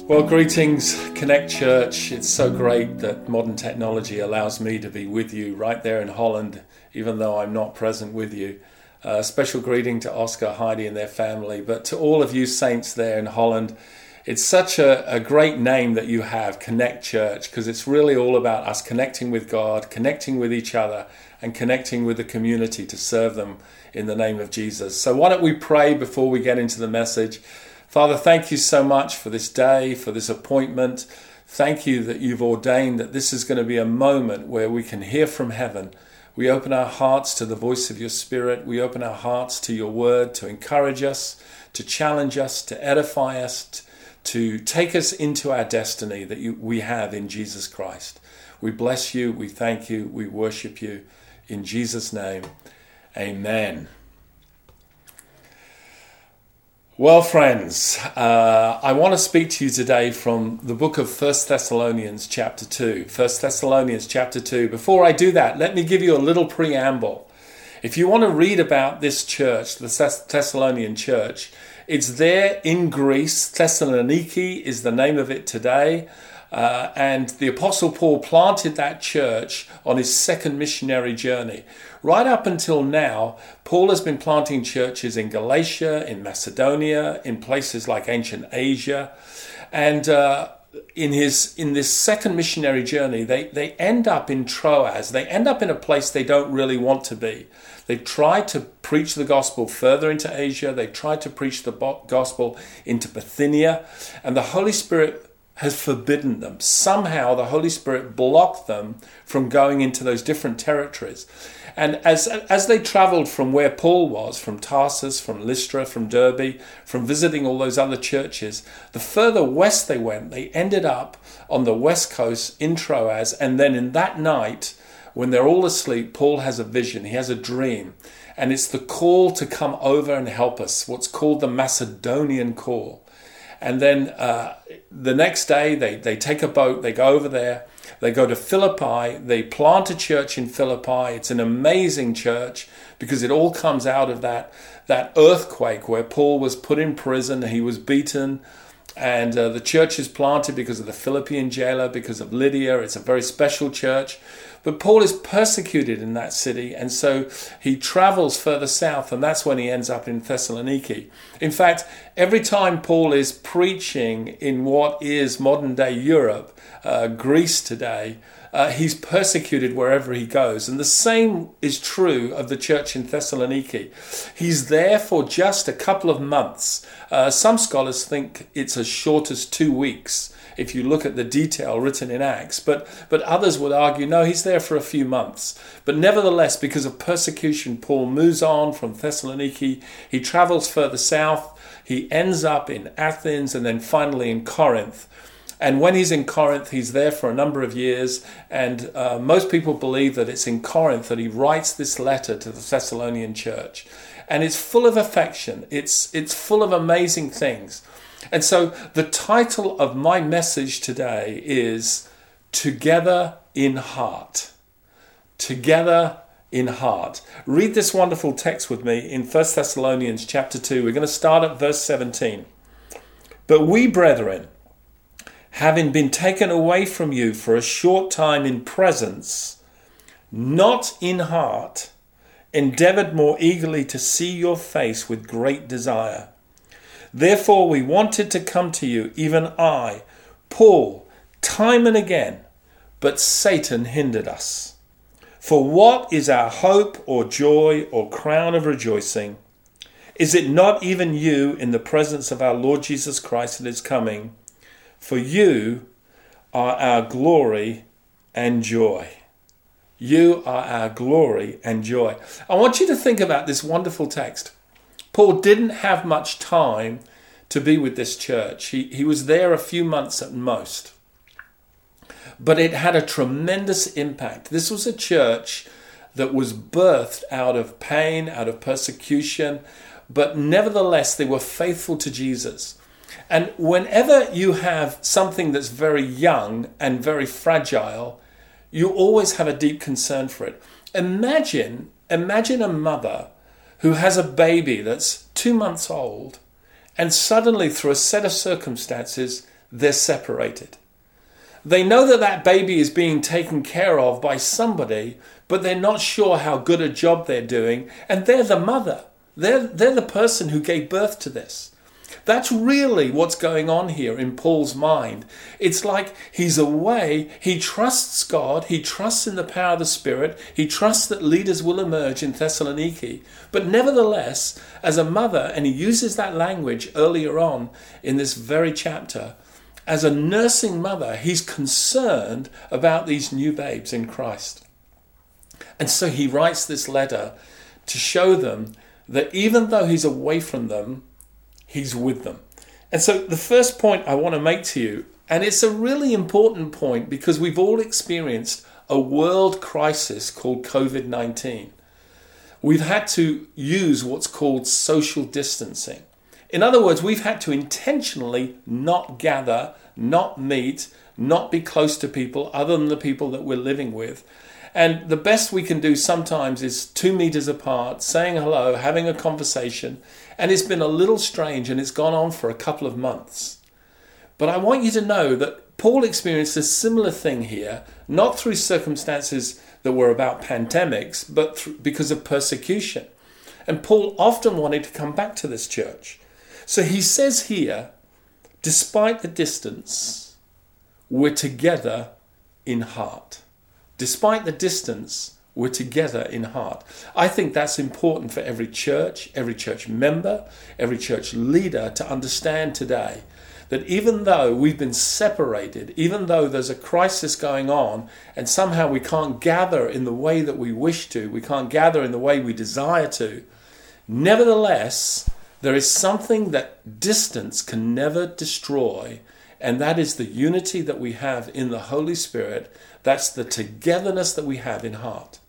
Well, greetings, Connect Church. It's so great that modern technology allows me to be with you right there in Holland, even though I'm not present with you. Special greeting to Oscar, Heidi and their family, but to all of you saints there in Holland. It's such a great name that you have, Connect Church, because it's really all about us connecting with God, connecting with each other, and connecting with the community to serve them in the name of Jesus. So why don't we pray before we get into the message? Father, thank you so much for this day, for this appointment. Thank you that you've ordained that this is going to be a moment where we can hear from heaven. We open our hearts to the voice of your Spirit. We open our hearts to your word to encourage us, to challenge us, to edify us, to take us into our destiny that we have in Jesus Christ. We bless you, we thank you, we worship you. In Jesus' name, amen. Well, friends, I want to speak to you today from the book of 1 Thessalonians chapter 2. 1 Thessalonians chapter 2. Before I do that, let me give you a little preamble. If you want to read about this church, the Thessalonian church, it's there in Greece. Thessaloniki is the name of it today. And the Apostle Paul planted that church on his second missionary journey. Right up until now, Paul has been planting churches in Galatia, in Macedonia, in places like ancient Asia. And in this second missionary journey, they end up in Troas. They end up in a place they don't really want to be. They've tried to preach the gospel further into Asia. They tried to preach the gospel into Bithynia. And the Holy Spirit has forbidden them. Somehow the Holy Spirit blocked them from going into those different territories. And as they traveled from where Paul was, from Tarsus, from Lystra, from Derbe, from visiting all those other churches, the further west they went, they ended up on the west coast in Troas. And then in that night, when they're all asleep, Paul has a vision. He has a dream. And it's the call to come over and help us, what's called the Macedonian call. And then the next day, they take a boat, they go over there, they go to Philippi, they plant a church in Philippi. It's an amazing church because it all comes out of that earthquake where Paul was put in prison, he was beaten, and the church is planted because of the Philippian jailer, because of Lydia. It's a very special church. But Paul is persecuted in that city, and so he travels further south, and that's when he ends up in Thessaloniki. In fact, every time Paul is preaching in what is modern-day Europe, Greece today, he's persecuted wherever he goes. And the same is true of the church in Thessaloniki. He's there for just a couple of months. Some scholars think it's as short as 2 weeks, if you look at the detail written in Acts. But others would argue, no, he's there for a few months. But nevertheless, because of persecution, Paul moves on from Thessaloniki. He travels further south. He ends up in Athens and then finally in Corinth. And when he's in Corinth, he's there for a number of years. And most people believe that it's in Corinth that he writes this letter to the Thessalonian church. And it's full of affection. It's full of amazing things. And so the title of my message today is Together in Heart. Together in Heart. Read this wonderful text with me in 1 Thessalonians chapter 2. We're going to start at verse 17. But we, brethren, having been taken away from you for a short time in presence, not in heart, endeavoured more eagerly to see your face with great desire. Therefore we wanted to come to you, even I, Paul, time and again, but Satan hindered us. For what is our hope or joy or crown of rejoicing? Is it not even you in the presence of our Lord Jesus Christ that is coming? For you are our glory and joy. You are our glory and joy. I want you to think about this wonderful text. Paul didn't have much time to be with this church. He was there a few months at most. But it had a tremendous impact. This was a church that was birthed out of pain, out of persecution, but nevertheless they were faithful to Jesus. And whenever you have something that's very young and very fragile, you always have a deep concern for it. Imagine a mother who has a baby that's 2 months old, and suddenly through a set of circumstances, they're separated. They know that that baby is being taken care of by somebody, but they're not sure how good a job they're doing, and they're the mother. They're the person who gave birth to this. That's really what's going on here in Paul's mind. It's like he's away, he trusts God, he trusts in the power of the Spirit, he trusts that leaders will emerge in Thessaloniki. But nevertheless, as a mother, and he uses that language earlier on in this very chapter, as a nursing mother, he's concerned about these new babes in Christ. And so he writes this letter to show them that even though he's away from them, he's with them. And so the first point I want to make to you, and it's a really important point because we've all experienced a world crisis called COVID-19. We've had to use what's called social distancing. In other words, we've had to intentionally not gather, not meet, not be close to people other than the people that we're living with. And the best we can do sometimes is 2 meters apart, saying hello, having a conversation. And it's been a little strange and it's gone on for a couple of months. But I want you to know that Paul experienced a similar thing here, not through circumstances that were about pandemics, but because of persecution. And Paul often wanted to come back to this church. So he says here, despite the distance, we're together in heart. Despite the distance, we're together in heart. I think that's important for every church member, every church leader to understand today that even though we've been separated, even though there's a crisis going on and somehow we can't gather in the way that we wish to, we can't gather in the way we desire to, nevertheless, there is something that distance can never destroy, and that is the unity that we have in the Holy Spirit. That's the togetherness that we have in heart.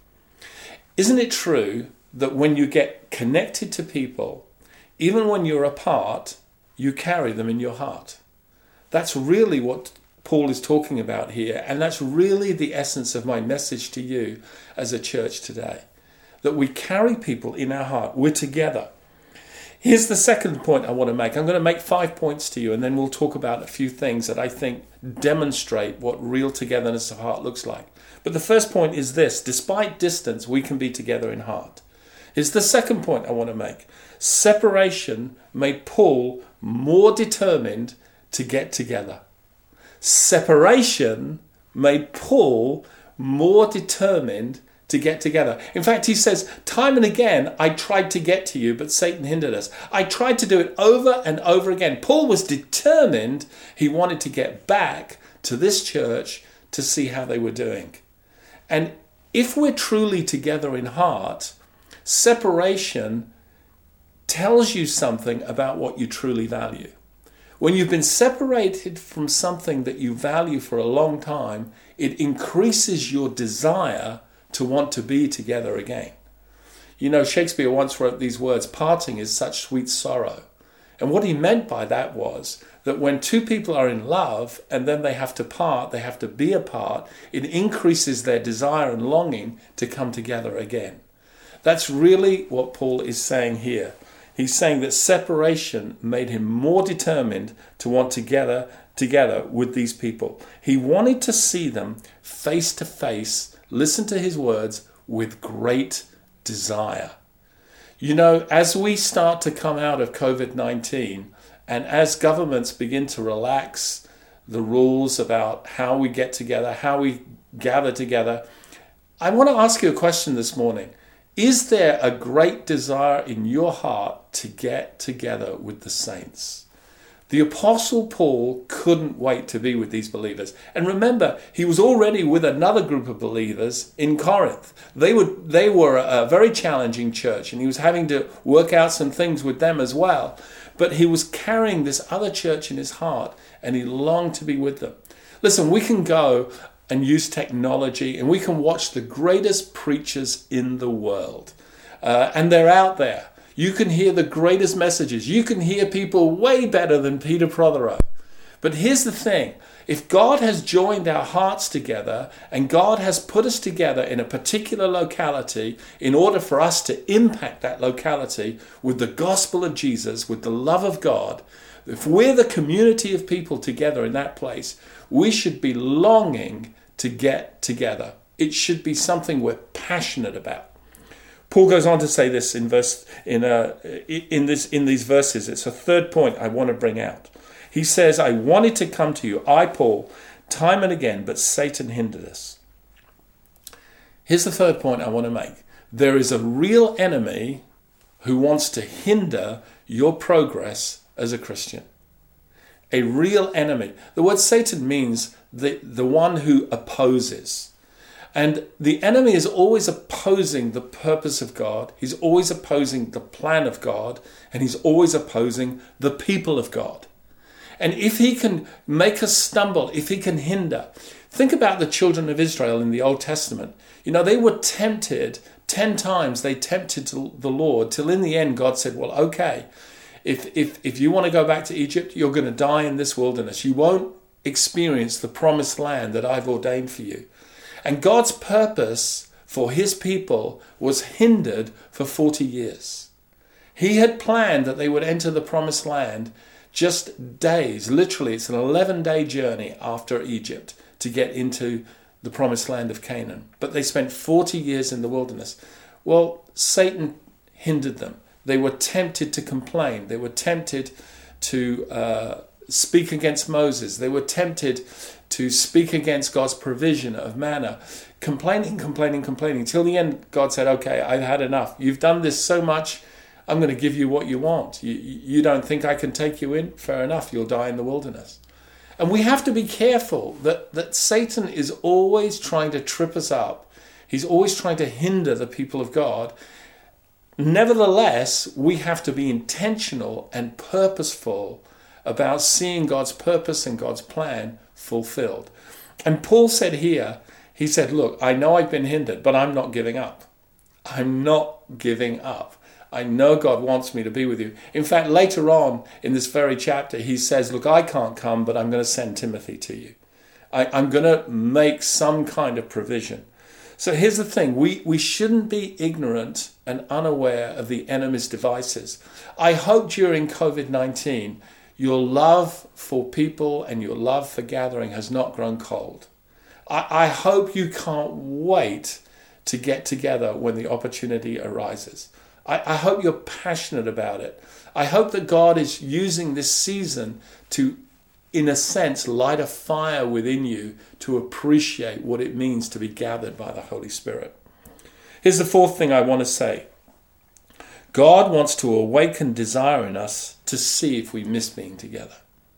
Isn't it true that when you get connected to people, even when you're apart, you carry them in your heart? That's really what Paul is talking about here, and that's really the essence of my message to you as a church today, that we carry people in our heart. We're together. Here's the second point I want to make. I'm going to make 5 points to you, and then we'll talk about a few things that I think demonstrate what real togetherness of heart looks like. But the first point is this: despite distance, we can be together in heart. Here's the second point I want to make. Separation made Paul more determined to get together. Separation made Paul more determined to get together. In fact, he says, time and again, I tried to get to you, but Satan hindered us. I tried to do it over and over again. Paul was determined. He wanted to get back to this church to see how they were doing. And if we're truly together in heart, separation tells you something about what you truly value. When you've been separated from something that you value for a long time, it increases your desire to want to be together again. You know, Shakespeare once wrote these words, parting is such sweet sorrow. And what he meant by that was that when two people are in love and then they have to part, they have to be apart, it increases their desire and longing to come together again. That's really what Paul is saying here. He's saying that separation made him more determined to want together with these people. He wanted to see them face to face, listen to his words with great desire. You know, as we start to come out of COVID-19 and as governments begin to relax the rules about how we get together, how we gather together, I want to ask you a question this morning. Is there a great desire in your heart to get together with the saints? The Apostle Paul couldn't wait to be with these believers. And remember, he was already with another group of believers in Corinth. They were a very challenging church, and he was having to work out some things with them as well. But he was carrying this other church in his heart, and he longed to be with them. Listen, we can go and use technology, and we can watch the greatest preachers in the world. And they're out there. You can hear the greatest messages. You can hear people way better than Peter Prothero. But here's the thing. If God has joined our hearts together and God has put us together in a particular locality in order for us to impact that locality with the gospel of Jesus, with the love of God, If we're the community of people together in that place, we should be longing to get together. It should be something we're passionate about. Paul goes on to say this in these verses. It's a third point I want to bring out. He says, I wanted to come to you, I, Paul, time and again, but Satan hindered us. Here's the third point I want to make. There is a real enemy who wants to hinder your progress as a Christian. A real enemy. The word Satan means the one who opposes. And the enemy is always opposing the purpose of God. He's always opposing the plan of God. And he's always opposing the people of God. And if he can make us stumble, if he can hinder, think about the children of Israel in the Old Testament. You know, they were tempted 10 times. They tempted the Lord till in the end God said, well, okay, if you want to go back to Egypt, you're going to die in this wilderness. You won't experience the promised land that I've ordained for you. And God's purpose for his people was hindered for 40 years. He had planned that they would enter the promised land just days, literally it's an 11-day journey after Egypt to get into the promised land of Canaan. But they spent 40 years in the wilderness. Well, Satan hindered them. They were tempted to complain. They were tempted to speak against Moses. They were tempted to speak against God's provision of manna, complaining. Till the end, God said, okay, I've had enough. You've done this so much, I'm going to give you what you want. You don't think I can take you in? Fair enough, you'll die in the wilderness. And we have to be careful that Satan is always trying to trip us up. He's always trying to hinder the people of God. Nevertheless, we have to be intentional and purposeful about seeing God's purpose and God's plan fulfilled. And Paul said here, he said, look, I know I've been hindered, but I'm not giving up. I'm not giving up. I know God wants me to be with you. In fact, later on in this very chapter, he says, look, I can't come, but I'm going to send Timothy to you. I'm going to make some kind of provision. So here's the thing. We shouldn't be ignorant and unaware of the enemy's devices. I hope during COVID-19, your love for people and your love for gathering has not grown cold. I hope you can't wait to get together when the opportunity arises. I hope you're passionate about it. I hope that God is using this season to, in a sense, light a fire within you to appreciate what it means to be gathered by the Holy Spirit. Here's the fourth thing I want to say. God wants to awaken desire in us to see if we miss being together.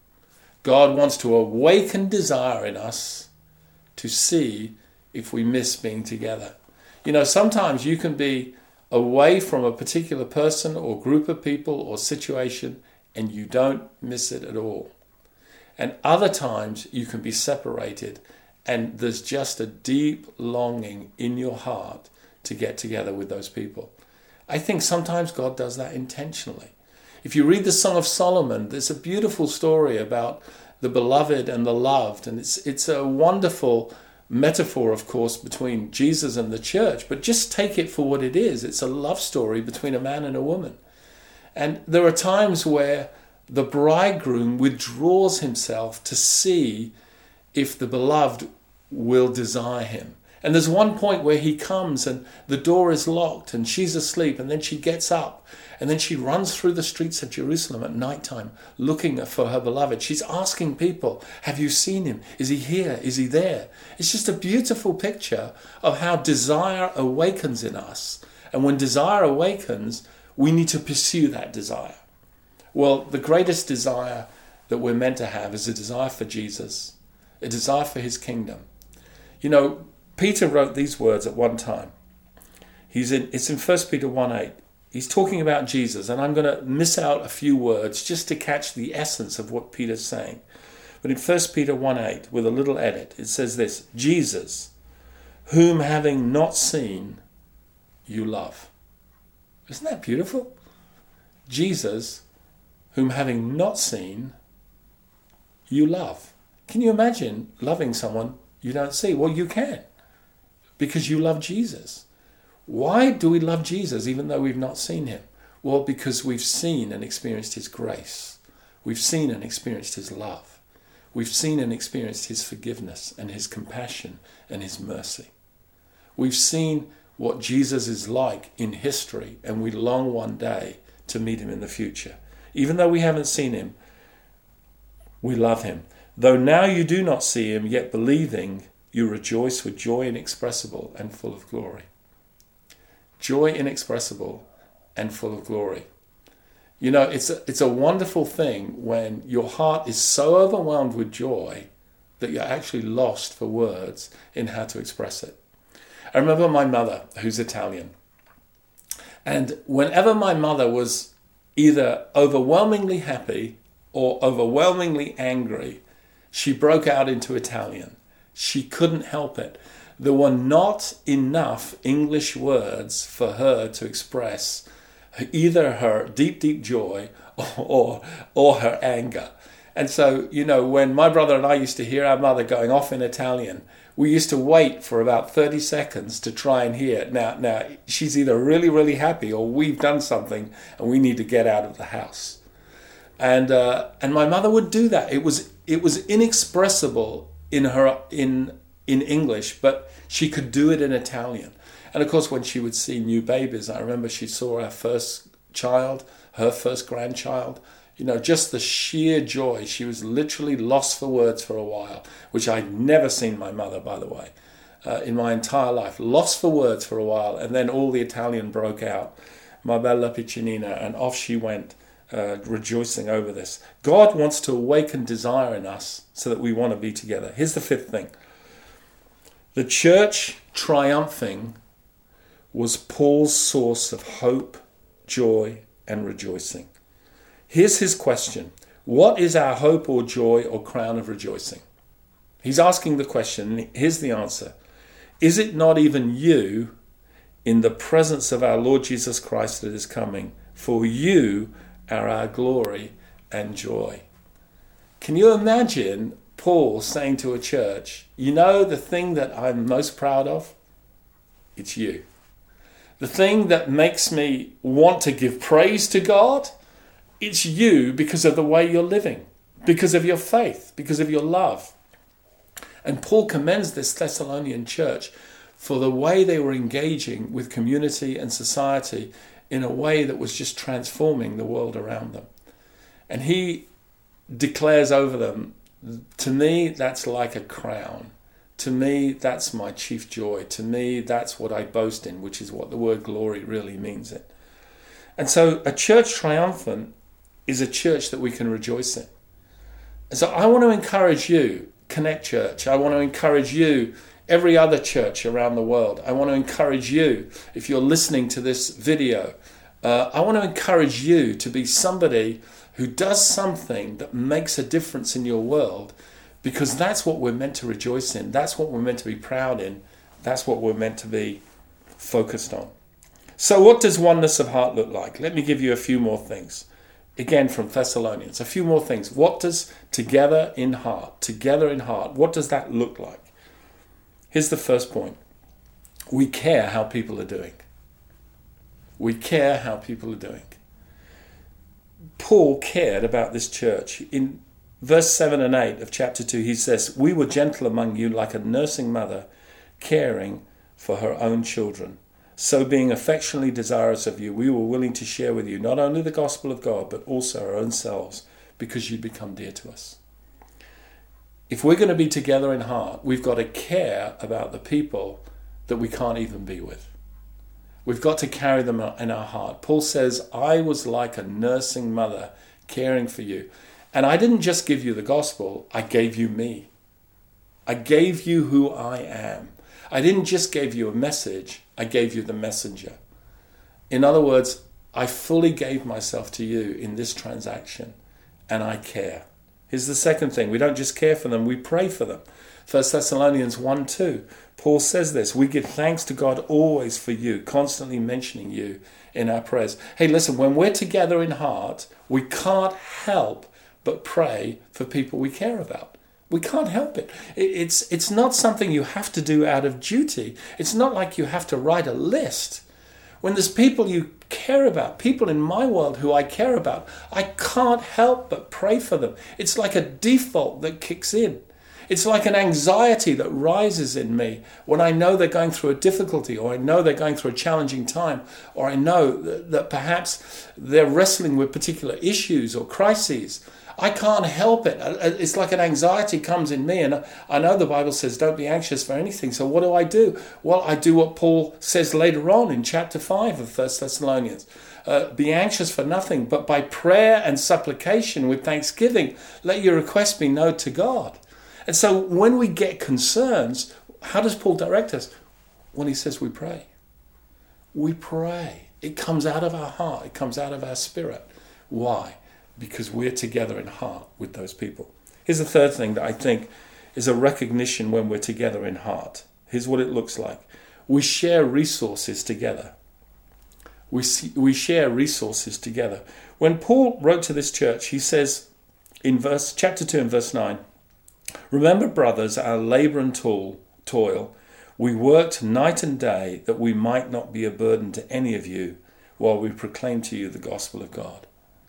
God wants to awaken desire in us to see if we miss being together. You know, sometimes you can be away from a particular person or group of people or situation and you don't miss it at all. And other times you can be separated and there's just a deep longing in your heart to get together with those people. I think sometimes God does that intentionally. If you read the Song of Solomon, there's a beautiful story about the beloved and the loved, and it's a wonderful metaphor, of course, between Jesus and the church, but just take it for what it is. It's a love story between a man and a woman. And there are times where the bridegroom withdraws himself to see if the beloved will desire him. And there's one point where he comes and the door is locked and she's asleep, and then she gets up and then she runs through the streets of Jerusalem at nighttime looking for her beloved. She's asking people, have you seen him? Is he here? Is he there? It's just a beautiful picture of how desire awakens in us. And when desire awakens, we need to pursue that desire. Well, the greatest desire that we're meant to have is a desire for Jesus, a desire for his kingdom. You know, Peter wrote these words at one time. It's in 1 Peter 1:8. He's talking about Jesus, and I'm going to miss out a few words just to catch the essence of what Peter's saying. But in 1 Peter 1:8, with a little edit, it says this: Jesus, whom having not seen, you love. Isn't that beautiful? Jesus, whom having not seen, you love. Can you imagine loving someone you don't see? Well, you can, because you love Jesus. Why do we love Jesus even though we've not seen him? Well, because we've seen and experienced his grace. We've seen and experienced his love. We've seen and experienced his forgiveness and his compassion and his mercy. We've seen what Jesus is like in history, and we long one day to meet him in the future. Even though we haven't seen him, we love him. Though now you do not see him, yet believing, you rejoice with joy inexpressible and full of glory. Joy inexpressible and full of glory. You know, it's a wonderful thing when your heart is so overwhelmed with joy that you're actually lost for words in how to express it. I remember my mother, who's Italian, and whenever my mother was either overwhelmingly happy or overwhelmingly angry, she broke out into Italian. She couldn't help it. There were not enough English words for her to express either her deep, deep joy or her anger. And so, you know, when my brother and I used to hear our mother going off in Italian, we used to wait for about 30 seconds to try and hear it. Now, she's either really, really happy or we've done something and we need to get out of the house. And my mother would do that. It was inexpressible in English, but she could do it in Italian. And of course, when she would see new babies, I remember she saw our first child, her first grandchild, you know, just the sheer joy. She was literally lost for words for a while, which I'd never seen my mother, by the way, in my entire life. Lost for words for a while, and then all the Italian broke out. Ma bella piccinina, and off she went, rejoicing over this. God wants to awaken desire in us so that we want to be together. Here's the fifth thing. The church triumphing was Paul's source of hope, joy, and rejoicing. Here's his question. What is our hope or joy or crown of rejoicing? He's asking the question, and here's the answer. Is it not even you in the presence of our Lord Jesus Christ that is coming? For you are our glory and joy. Can you imagine Paul saying to a church, you know the thing that I'm most proud of? It's you. The thing that makes me want to give praise to God? It's you because of the way you're living, because of your faith, because of your love. And Paul commends this Thessalonian church for the way they were engaging with community and society in a way that was just transforming the world around them. And he declares over them, to me, that's like a crown. To me, that's my chief joy. To me, that's what I boast in, which is what the word glory really means it. And so a church triumphant is a church that we can rejoice in. And so I want to encourage you, Connect Church. I want to encourage you, every other church around the world. I want to encourage you, if you're listening to this video, I want to encourage you to be somebody who does something that makes a difference in your world, because that's what we're meant to rejoice in. That's what we're meant to be proud in. That's what we're meant to be focused on. So what does oneness of heart look like? Let me give you a few more things. Again, from Thessalonians, a few more things. What does together in heart, what does that look like? Here's the first point. We care how people are doing. We care how people are doing. Paul cared about this church. In verse 7 and 8 of chapter 2, he says, we were gentle among you like a nursing mother caring for her own children. So being affectionately desirous of you, we were willing to share with you not only the gospel of God, but also our own selves, because you'd become dear to us. If we're going to be together in heart, we've got to care about the people that we can't even be with. We've got to carry them in our heart. Paul says, I was like a nursing mother caring for you. And I didn't just give you the gospel, I gave you me. I gave you who I am. I didn't just give you a message, I gave you the messenger. In other words, I fully gave myself to you in this transaction, and I care. Here's the second thing. We don't just care for them, we pray for them. 1 Thessalonians 1:2, Paul says this, we give thanks to God always for you, constantly mentioning you in our prayers. Hey, listen, when we're together in heart, we can't help but pray for people we care about. We can't help it. It's not something you have to do out of duty. It's not like you have to write a list. When there's people you care about, people in my world who I care about, I can't help but pray for them. It's like a default that kicks in. It's like an anxiety that rises in me when I know they're going through a difficulty, or I know they're going through a challenging time, or I know that perhaps they're wrestling with particular issues or crises. I can't help it. It's like an anxiety comes in me, and I know the Bible says don't be anxious for anything. So what do? Well, I do what Paul says later on in chapter 5 of 1 Thessalonians. Be anxious for nothing, but by prayer and supplication with thanksgiving, let your requests be known to God. And so when we get concerns, how does Paul direct us? When he says we pray. We pray. It comes out of our heart. It comes out of our spirit. Why? Because we're together in heart with those people. Here's the third thing that I think is a recognition when we're together in heart. Here's what it looks like. We share resources together. We share resources together. When Paul wrote to this church, he says in chapter 2 and verse 9, remember, brothers, our labour and toil. We worked night and day that we might not be a burden to any of you while we proclaim to you the gospel of God.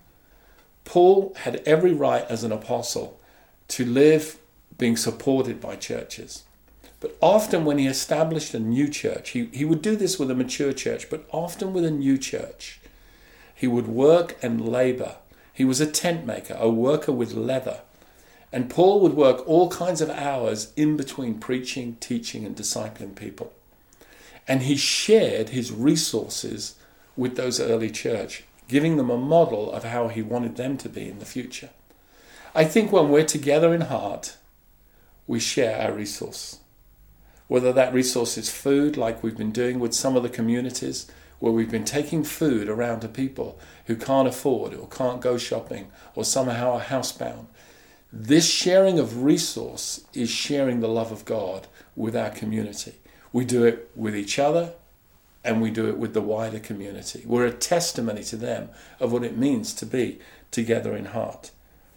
Paul had every right as an apostle to live being supported by churches. But often when he established a new church, he would do this with a mature church, but often with a new church, he would work and labour. He was a tent maker, a worker with leather. And Paul would work all kinds of hours in between preaching, teaching, and discipling people. And he shared his resources with those early church, giving them a model of how he wanted them to be in the future. I think when we're together in heart, we share our resource. Whether that resource is food, like we've been doing with some of the communities, where we've been taking food around to people who can't afford or can't go shopping or somehow are housebound. This sharing of resource is sharing the love of God with our community. We do it with each other, and we do it with the wider community. We're a testimony to them of what it means to be together in heart.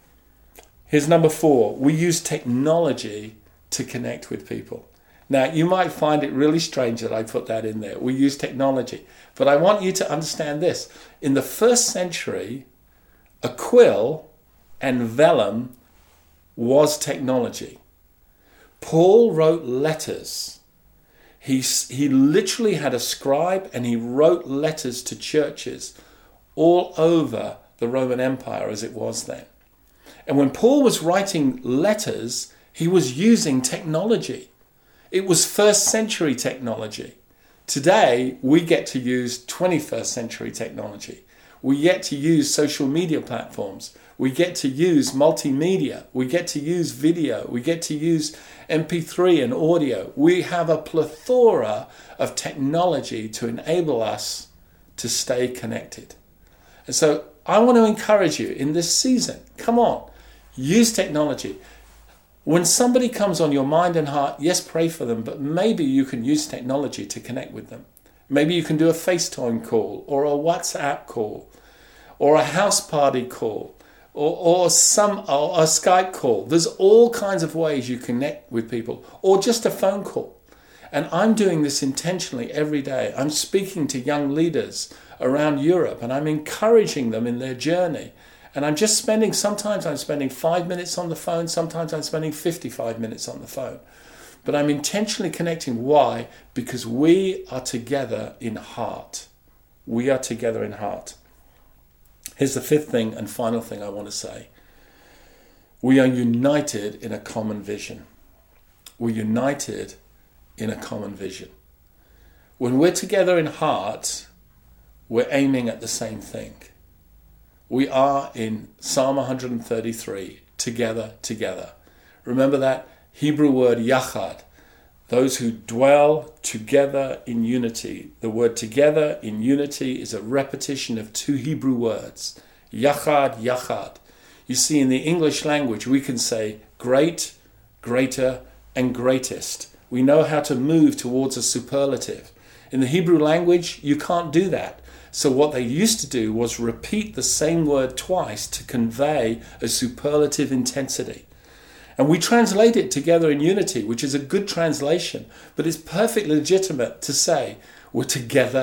Here's number 4. We use technology to connect with people. Now, you might find it really strange that I put that in there. We use technology. But I want you to understand this. In the first century, a quill and vellum was technology. Paul wrote letters. He literally had a scribe, and he wrote letters to churches all over the Roman Empire as it was then. And when Paul was writing letters, he was using technology. It was first century technology. Today, we get to use 21st century technology. We get to use social media platforms. We get to use multimedia. We get to use video. We get to use MP3 and audio. We have a plethora of technology to enable us to stay connected. And so I want to encourage you in this season, come on, use technology. When somebody comes on your mind and heart, yes, pray for them, but maybe you can use technology to connect with them. Maybe you can do a FaceTime call or a WhatsApp call or a house party call or a Skype call. There's all kinds of ways you connect with people, or just a phone call. And I'm doing this intentionally every day. I'm speaking to young leaders around Europe, and I'm encouraging them in their journey. And sometimes I'm spending 5 minutes on the phone, sometimes I'm spending 55 minutes on the phone. But I'm intentionally connecting. Why? Because we are together in heart. We are together in heart. Here's the 5th thing and final thing I want to say. We are united in a common vision. We're united in a common vision. When we're together in heart, we're aiming at the same thing. We are in Psalm 133, together. Remember that Hebrew word yachad, those who dwell together in unity. The word together in unity is a repetition of 2 Hebrew words, yachad, yachad. You see, in the English language, we can say great, greater, and greatest. We know how to move towards a superlative. In the Hebrew language, you can't do that. So what they used to do was repeat the same word twice to convey a superlative intensity. And we translate it together in unity, which is a good translation, but it's perfectly legitimate to say we're together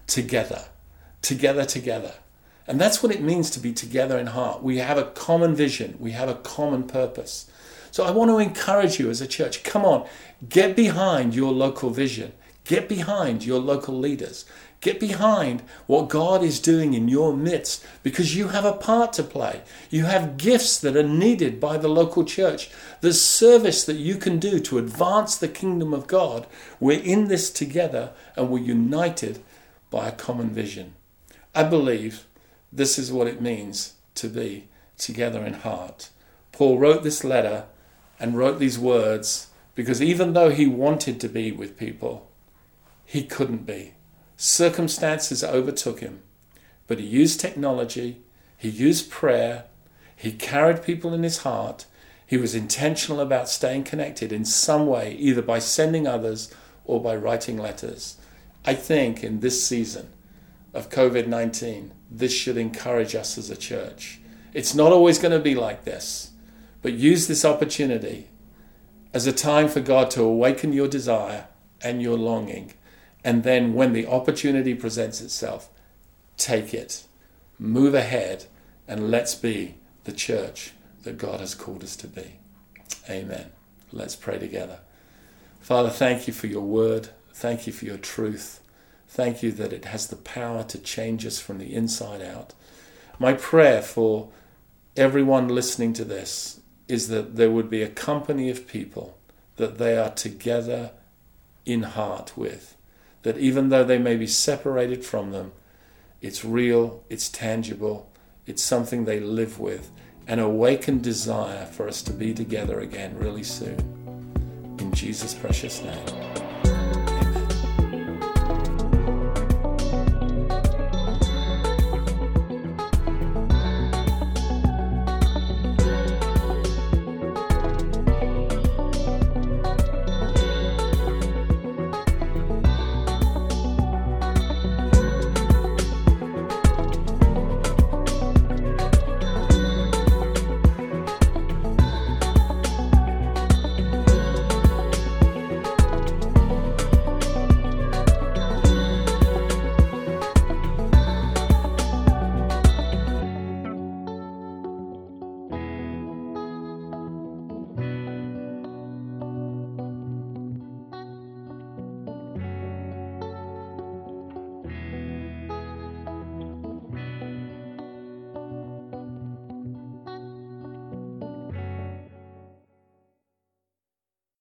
together. Together. And that's what it means to be together in heart. We have a common vision. We have a common purpose. So I want to encourage you as a church, come on, get behind your local vision. Get behind your local leaders. Get behind what God is doing in your midst, because you have a part to play. You have gifts that are needed by the local church. There's service that you can do to advance the kingdom of God. We're in this together and we're united by a common vision. I believe this is what it means to be together in heart. Paul wrote this letter and wrote these words because even though he wanted to be with people, he couldn't be. Circumstances overtook him, but he used technology, he used prayer, he carried people in his heart, he was intentional about staying connected in some way, either by sending others or by writing letters. I think in this season of COVID-19, this should encourage us as a church. It's not always going to be like this, but use this opportunity as a time for God to awaken your desire and your longing. And then when the opportunity presents itself, take it, move ahead, and let's be the church that God has called us to be. Amen. Let's pray together. Father, thank you for your word. Thank you for your truth. Thank you that it has the power to change us from the inside out. My prayer for everyone listening to this is that there would be a company of people that they are together in heart with. That even though they may be separated from them, it's real, it's tangible, it's something they live with, an awakened desire for us to be together again really soon. In Jesus' precious name.